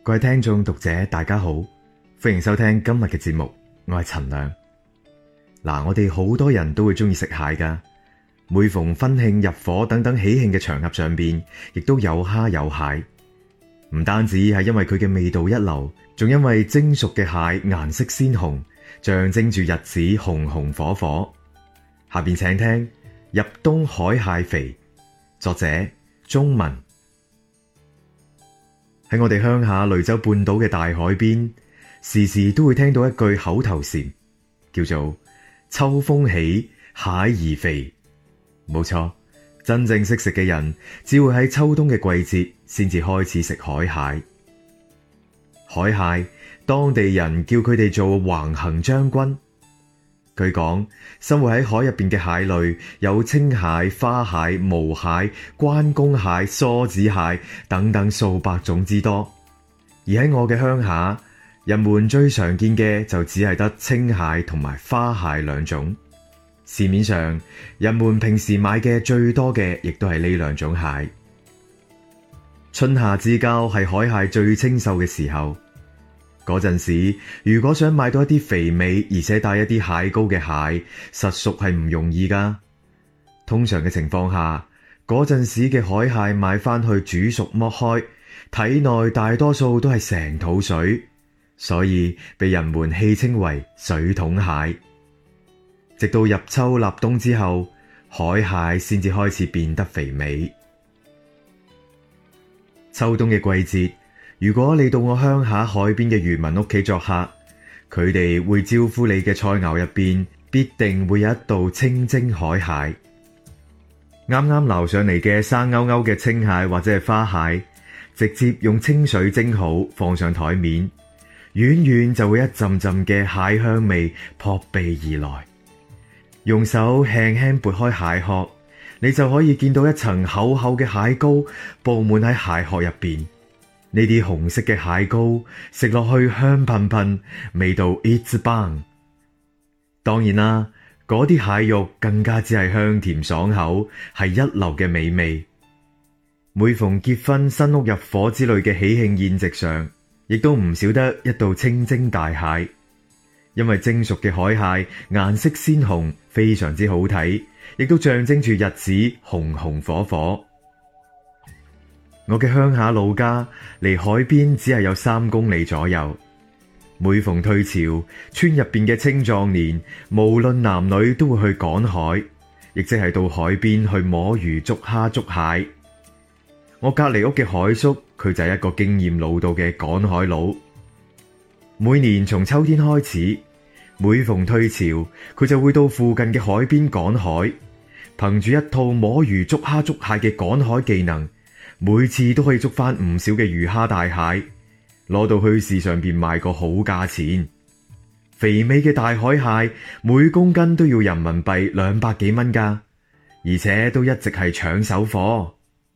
各位聽眾讀者大家好，歡迎收聽今日嘅節目，我係陳亮。我哋好多人都會中意食蟹噶，每逢婚慶入伙等等喜慶嘅場合上邊，亦都有蝦有蟹。唔單止係因為佢嘅味道一流，仲因為蒸熟嘅蟹顏色鮮紅，象徵住日子紅紅火火。下邊請聽《入冬海蟹肥》，作者鍾文。喺我哋鄉下雷州半島嘅大海邊，時時都會聽到一句口頭禪，叫做秋風起，蟹兒肥。冇錯，真正識食嘅人，只會喺秋冬嘅季節先至開始食海蟹。海蟹，當地人叫佢哋做橫行將軍。據講，生活喺海入邊嘅蟹類有青蟹、花蟹、毛蟹、關公蟹、梭子蟹等等數百種之多。而喺我嘅鄉下，人們最常見嘅就只係得青蟹同埋花蟹兩種。市面上人們平時買嘅最多嘅，亦都係呢兩種蟹。春夏之交係海蟹最清秀嘅時候。嗰陣時，如果想買到一啲肥美而且帶一啲蟹膏嘅蟹，實屬係唔容易噶。通常嘅情況下，嗰陣時嘅海蟹買翻去煮熟剝開，體內大多數都係成肚水，所以被人們戲稱為水桶蟹。直到入秋立冬之後，海蟹先至開始變得肥美。秋冬嘅季節，如果你到我鄉下海邊嘅漁民屋企作客，佢哋會招呼你嘅菜餚入邊必定會有一道清蒸海蟹。啱啱撈上嚟嘅生勾勾嘅青蟹或者係花蟹，直接用清水蒸好放上台面，遠遠就會一陣陣嘅蟹香味撲鼻而來。用手輕輕撥開蟹殼，你就可以見到一層厚厚嘅蟹膏布滿喺蟹殼入邊。呢啲紅色嘅蟹膏食落去香噴噴，味道一級棒。當然啦，嗰啲蟹肉更加只係香甜爽口，係一流嘅美味。每逢結婚、新屋入伙之類嘅喜慶宴席上，亦都唔少得一道清蒸大蟹。因為蒸熟嘅海蟹顏色鮮紅，非常之好睇，亦都象徵住日子紅紅火火。我嘅鄉下老家離海邊只係有3公里左右。每逢退潮，村入邊嘅青壯年無論男女都會去趕海，亦即係到海邊去摸魚、捉蝦、捉蟹。我隔籬屋嘅海叔，佢就係一個經驗老道嘅趕海佬。每年從秋天開始，每逢退潮，佢就會到附近嘅海邊趕海，憑住一套摸魚、捉蝦、捉蟹嘅趕海技能，每次都可以捉翻唔少嘅魚蝦大蟹，攞到去市上邊賣個好價錢。肥美嘅大海蟹每公斤都要人民幣200幾蚊噶，而且都一直係搶手貨。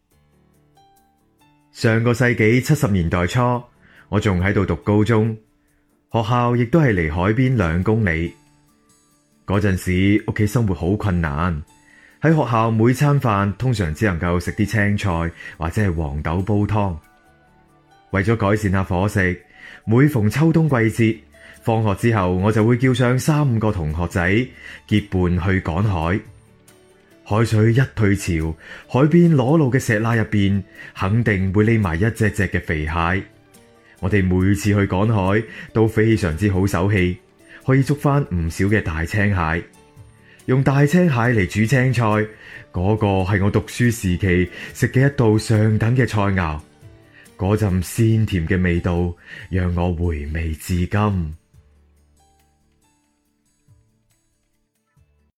上個世紀70年代初，我仲喺度讀高中，學校亦都係離海邊2公里。嗰陣時屋企生活好困難。喺學校每餐飯通常只能夠食啲青菜或者係黃豆煲湯。為咗改善下伙食，每逢秋冬季節，放學之後我就會叫上3-5個同學仔結伴去趕海。海水一退潮，海邊裸露嘅石罅入邊肯定會匿埋一隻隻嘅肥蟹。我哋每次去趕海都非常之好手氣，可以捉翻唔少嘅大青蟹。用大青蟹嚟煮青菜，嗰個係我讀書時期食嘅一道上等嘅菜餚，嗰陣鮮甜嘅味道讓我回味至今。